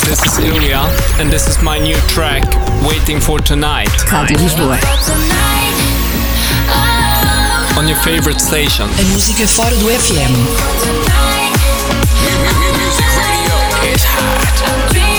this is Ilya, and this is my new track, Waiting for Tonight. Rádio Lisboa. On your favorite station. A música fora do FM. Music radio is hot.